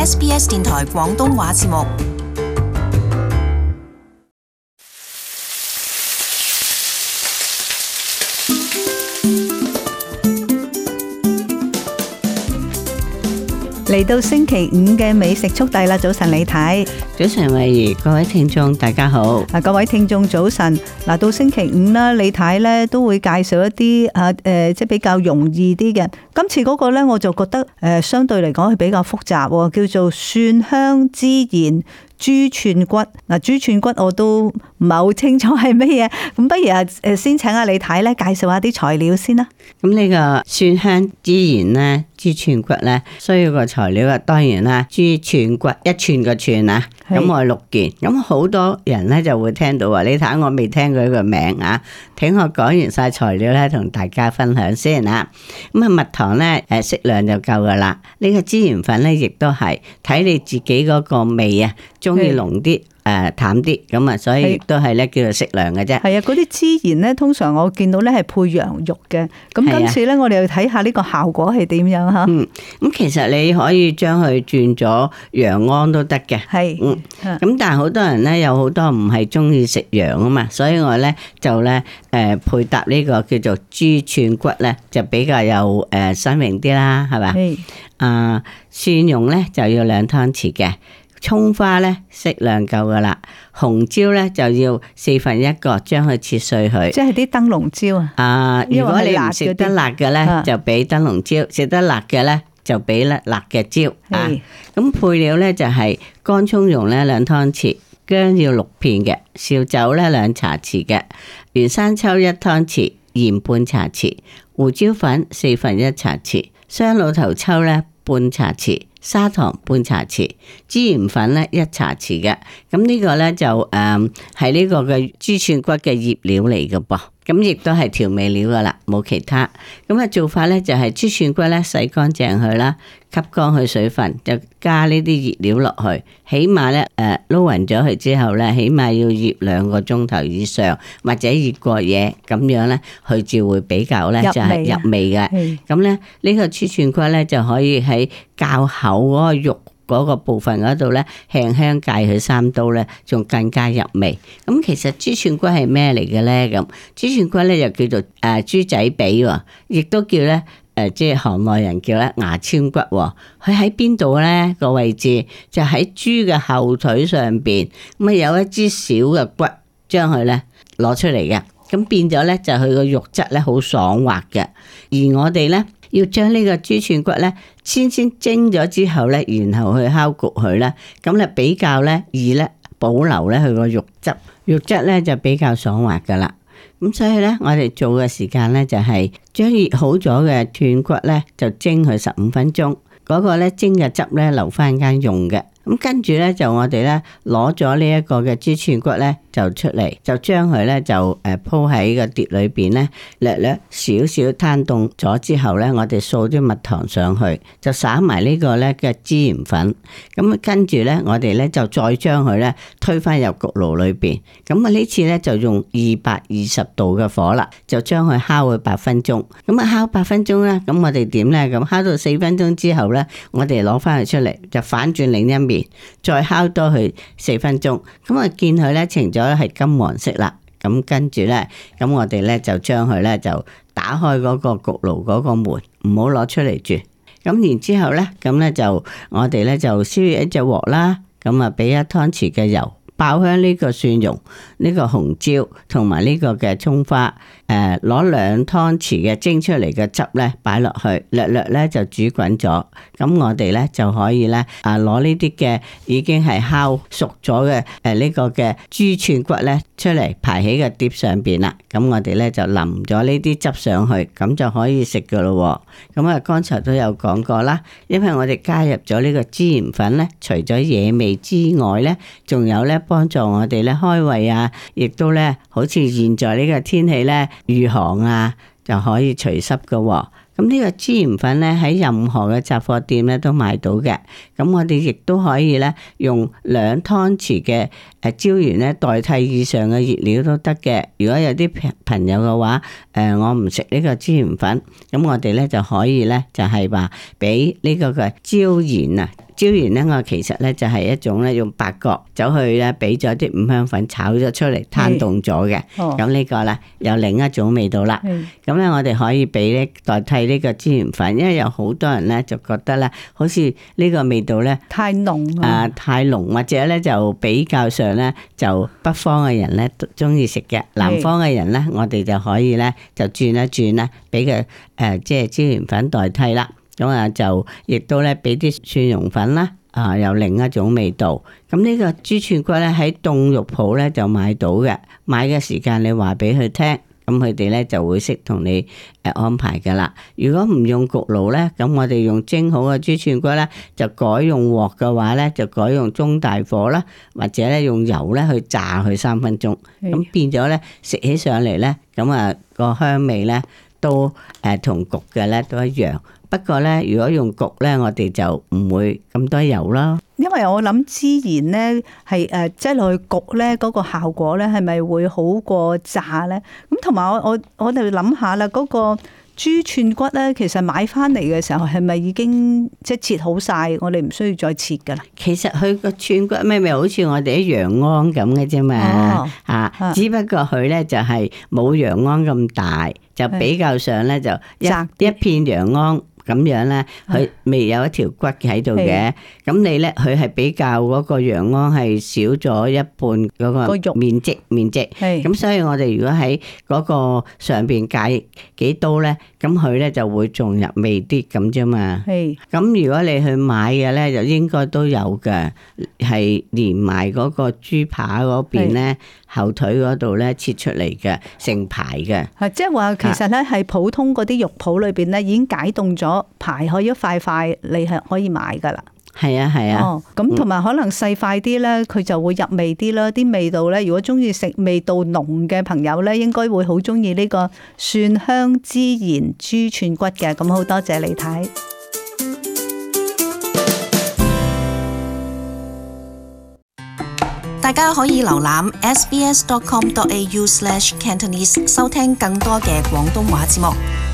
SBS 電台廣東話節目。 嚟到星期五嘅美食速遞啦！早晨李太， 早晨慧怡，各位聽眾大家好。 各位聽眾早晨。嗱，到星期五啦，李太咧都會介紹一啲即係比較容易啲嘅。今次嗰個咧，我就覺得相對嚟講係比較複雜，叫做蒜香孜然豬串骨。嗱，豬串骨我都唔係好清楚係乜嘢，咁不如先請阿李太咧介紹下啲材料先啦。 咁呢個蒜香孜然咧，豬串骨咧，需要個材料啊，當然啦，豬串骨一寸個串啊，咁我6件。咁好多人咧就會聽到話，你睇我未聽過佢個名啊，聽我講完晒材料咧，同大家分享先啊。咁啊，蜜糖咧適量就夠噶啦。呢個孜然粉咧，亦都係睇你自己嗰個味啊，中意濃啲。淡啲咁啊，所以亦都係咧叫做適量嘅啫。係啊， 嗰啲孜然咧，通常我見到咧係配羊肉嘅。咁今次咧，我哋要睇下呢個效果係點樣吓。 咁其實你可以將佢轉咗羊肝都得嘅。係。咁但係好多人咧有好多唔係中意食羊啊嘛，所以我咧就咧配搭呢個叫做豬串骨咧，就比較有新穎啲啦，係嘛？係。蒜蓉咧就要2湯匙嘅。蔥花咧適量夠噶啦，紅椒咧就要1/4個，將佢切碎佢。即係啲燈籠椒啊！如果你唔食得辣嘅咧，就俾燈籠椒；食得辣嘅咧，就俾辣嘅椒啊。咁配料咧就係乾蔥蓉咧2湯匙，薑要6片嘅，紹酒咧2茶匙嘅，原生抽1湯匙，鹽半茶匙，胡椒粉1/4茶匙，雙老頭抽咧半茶匙。砂糖半茶匙，孜然粉咧1茶匙嘅，咁呢個咧就係呢個嘅豬串骨嘅醃料嚟嘅噃，咁亦都係調味料噶啦，冇其他。咁啊做法咧就係豬串骨咧洗乾淨佢啦，吸乾佢水分，就加呢啲熱料落去，起碼咧撈勻咗佢之後咧，起碼要醃2個鐘頭以上，或者熱過夜，咁樣咧佢就會比較咧就係入味嘅。咁咧呢個豬串骨咧就可以喺較厚嗰個肉嗰個部分嗰度咧，輕輕界佢3刀咧，仲更加入味。咁其實豬串骨係咩嚟嘅咧？咁豬串骨咧又叫做豬仔髀，亦都叫咧即係行內人叫咧牙籤骨。佢喺邊度咧？個位置就喺豬嘅後腿上邊，咁啊有一支小嘅骨，將佢咧攞出嚟嘅，咁變咗咧就佢個肉質咧好爽滑嘅。而我哋咧要將呢個豬串骨咧先蒸咗之後咧，然後去烤焗佢咧，咁咧比較咧易咧保留咧佢個肉質咧就比較爽滑噶啦。咁所以咧我哋做嘅時間咧就係將熱好咗嘅斷骨咧就蒸佢15分鐘，嗰個咧蒸嘅汁咧留翻間用嘅。咁跟住咧就我哋咧攞咗呢一個嘅豬串骨咧就出嚟，就將佢咧就鋪喺個碟裏邊咧，略少少攤凍咗之後咧，我哋掃啲蜜糖上去，就灑埋呢個咧嘅孜然粉。咁跟住咧我哋咧就再將佢咧推返入焗爐裏邊。咁啊呢次咧就用220度嘅火啦，就將佢烤去8分鐘。咁啊烤8分鐘咧，咁我哋點咧？咁烤到4分鐘之後咧，我哋攞返佢出嚟，就反轉另一面。再烤多佢4分鐘，咁啊見佢咧呈咗係金黃色啦，咁跟住咧，咁我哋咧就將佢咧就打開嗰個焗爐嗰個門，唔好攞出嚟住。咁然之後咧，咁咧就我哋咧就燒熱一隻鑊啦，咁啊俾1湯匙嘅油。爆香呢個蒜蓉、呢個紅椒同埋呢個嘅蔥花，攞2湯匙嘅蒸出嚟嘅汁咧擺落去，略咧就煮滾咗。咁我哋咧就可以咧攞呢啲嘅已經係烤熟咗嘅呢個嘅豬串骨咧出嚟排喺個碟上邊啦。咁我哋咧就淋咗呢啲汁上去，咁就可以食噶咯。咁啊，剛才都有講過啦，因為我哋加入咗呢個孜然粉咧，除咗惹味之外咧，仲有咧幫助我哋咧開胃啊，亦都咧好似現在呢個天氣咧御寒啊，就可以除濕噶。咁呢個孜然粉咧喺任何嘅雜貨店咧都買到嘅。咁我哋亦都可以咧用2湯匙嘅椒鹽咧代替以上嘅熱料都得嘅。如果有啲朋友嘅話，我唔食呢個孜然粉，咁我哋咧就可以咧就係話俾呢個嘅椒鹽啊椒鹽咧，我其實咧就係一種咧用八角走去咧俾咗啲五香粉炒咗出嚟攤凍咗嘅。咁呢個咧有另一種味道啦。咁咧我哋可以俾咧代替呢個椒鹽粉，因為有好多人咧就覺得咧好似呢個味道咧太濃太濃，或者咧就比較上咧就北方嘅人咧都中意食嘅，南方嘅人咧我哋就可以咧就轉一轉咧俾佢即係椒鹽粉代替啦。咁啊就亦都咧俾啲蒜蓉粉啦，有另一種味道。咁呢個豬串骨咧喺凍肉鋪咧就買到嘅，買嘅時間你話俾佢聽，咁佢哋咧就會識同你安排噶啦。如果唔用焗爐咧，咁我哋用蒸好嘅豬串骨咧，就改用鑊嘅話咧，就改用中大火啦，或者咧用油咧去炸佢3分鐘，咁變咗咧食起上嚟咧，咁啊個香味咧都同焗嘅咧都一樣。不過咧，如果用焗咧，我哋就唔會咁多油啦。 因為我諗孜然咧係擠落去焗咧，嗰個效果咧係咪會好過炸咧？咁同埋我哋諗下啦，嗰個豬串骨咧，其實買翻嚟嘅時候係咪已經即係切好晒？我哋唔需要再切噶啦。 其實佢個串骨咪好似我哋啲羊鞍咁嘅啫嘛，只不過佢咧就係冇羊鞍咁大，就比較上咧就一片羊鞍。咁樣咧，佢未有一條骨喺度嘅。咁你咧，佢係比較嗰個羊鞍係少咗一半嗰個面積。咁所以我哋如果喺嗰個上邊介幾刀咧，咁佢咧就會仲入味啲咁啫嘛。咁如果你去買嘅咧，就應該都有嘅，係連埋嗰個豬扒嗰邊咧，後腿嗰度咧切出嚟嘅，成排嘅。 即係話其實咧係普通嗰啲肉鋪裏邊咧已經解凍咗。排開一塊塊，你係可以買噶啦。 係啊。 咁同埋可能細塊啲咧，佢就會入味啲啦。啲味道咧，如果中意食味道濃嘅朋友咧，應該會好中意呢個蒜香孜然豬串骨嘅。咁好多謝李太。 大家可以瀏覽 sbs.com.au/cantonese 收聽更多嘅廣東話節目。